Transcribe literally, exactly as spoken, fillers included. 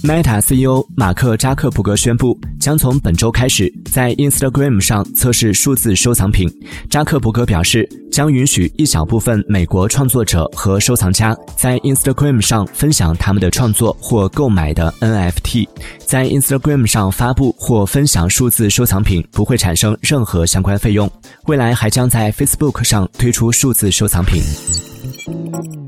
Meta C E O 马克扎克伯格宣布，将从本周开始在 Instagram 上测试数字收藏品。扎克伯格表示，将允许一小部分美国创作者和收藏家在 Instagram 上分享他们的创作或购买的 N F T。在 Instagram 上发布或分享数字收藏品不会产生任何相关费用。未来还将在 Facebook 上推出数字收藏品。